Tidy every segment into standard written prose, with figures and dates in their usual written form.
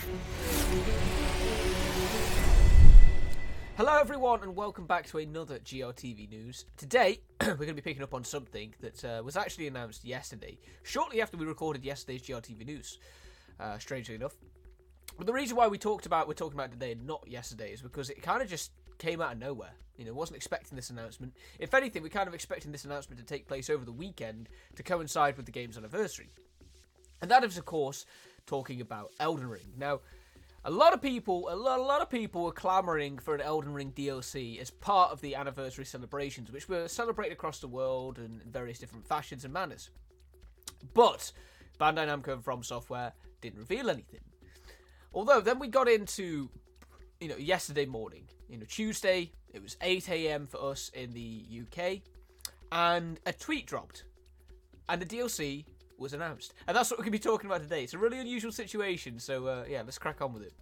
Hello everyone and welcome back to another GRTV News. Today, we're going to be picking up on something that was actually announced yesterday, shortly after we recorded yesterday's GRTV News, strangely enough. But the reason why we're talking about it today and not yesterday is because it kind of just came out of nowhere. Wasn't expecting this announcement. If anything, we're kind of expecting this announcement to take place over the weekend to coincide with the game's anniversary. And that is, of course, talking about Elden Ring. Now, a lot of people were clamouring for an Elden Ring DLC as part of the anniversary celebrations, which were celebrated across the world in various different fashions and manners. But Bandai Namco and From Software didn't reveal anything. Although then we got into, yesterday morning, Tuesday, it was 8 a.m. for us in the UK, and a tweet dropped, and the DLC was announced. And that's what we're going to be talking about today. It's a really unusual situation, so let's crack on with it.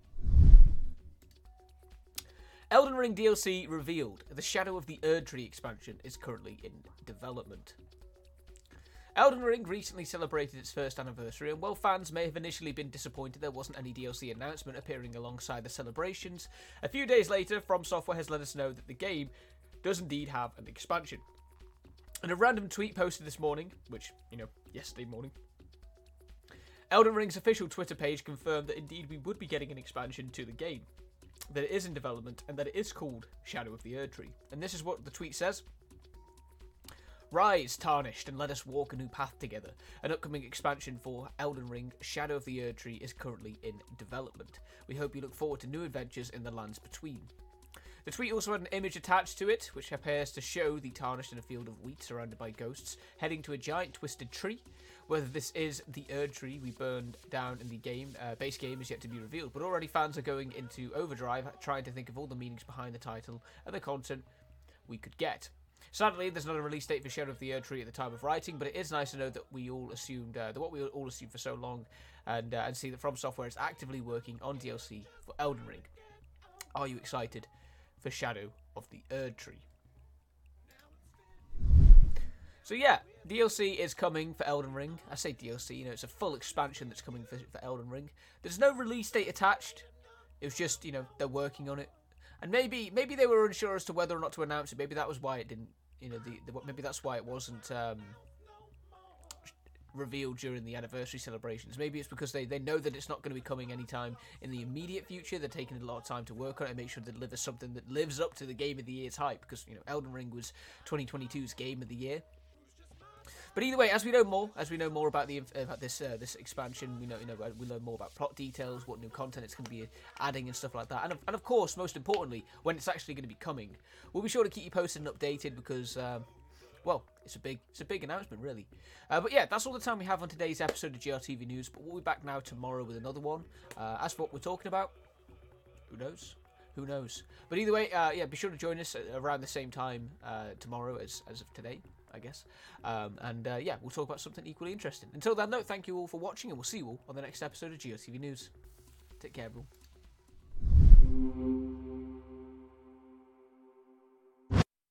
Elden Ring DLC revealed. The Shadow of the Erdtree expansion is currently in development. Elden Ring recently celebrated its first anniversary, and while fans may have initially been disappointed there wasn't any DLC announcement appearing alongside the celebrations, a few days later, From Software has let us know that the game does indeed have an expansion. In a random tweet posted this morning, which, yesterday morning, Elden Ring's official Twitter page confirmed that indeed we would be getting an expansion to the game, that it is in development, and that it is called Shadow of the Erdtree. And this is what the tweet says. Rise, Tarnished, and let us walk a new path together. An upcoming expansion for Elden Ring, Shadow of the Erdtree, is currently in development. We hope you look forward to new adventures in the lands between. The tweet also had an image attached to it, which appears to show the Tarnished in a field of wheat surrounded by ghosts, heading to a giant twisted tree. Whether this is the Erdtree we burned down in the base game is yet to be revealed, but already fans are going into overdrive, trying to think of all the meanings behind the title and the content we could get. Sadly, there's not a release date for Shadow of the Erdtree at the time of writing, but it is nice to know that we all assumed, what we all assumed for so long, and see that From Software is actively working on DLC for Elden Ring. Are you excited for Shadow of the Erdtree? So yeah, DLC is coming for Elden Ring. I say DLC, it's a full expansion that's coming for Elden Ring. There's no release date attached. It was just, they're working on it. And maybe they were unsure as to whether or not to announce it. Maybe that was why it didn't, maybe that's why it wasn't revealed during the anniversary celebrations. Maybe it's because they know that it's not going to be coming anytime in the immediate future. They're taking a lot of time to work on it and make sure they deliver something that lives up to the Game of the Year's hype, because Elden Ring was 2022's Game of the Year. But either way, as we know more about this expansion, we learn more about plot details, what new content it's going to be adding and stuff like that, and of course, most importantly, when it's actually going to be coming. We'll be sure to keep you posted and updated because it's a big announcement, really. But yeah, that's all the time we have on today's episode of GRTV News. But we'll be back now tomorrow with another one. As for what we're talking about, who knows? Who knows? But either way, be sure to join us around the same time tomorrow as of today, I guess. We'll talk about something equally interesting. Until then, though, thank you all for watching, and we'll see you all on the next episode of GRTV News. Take care, everyone.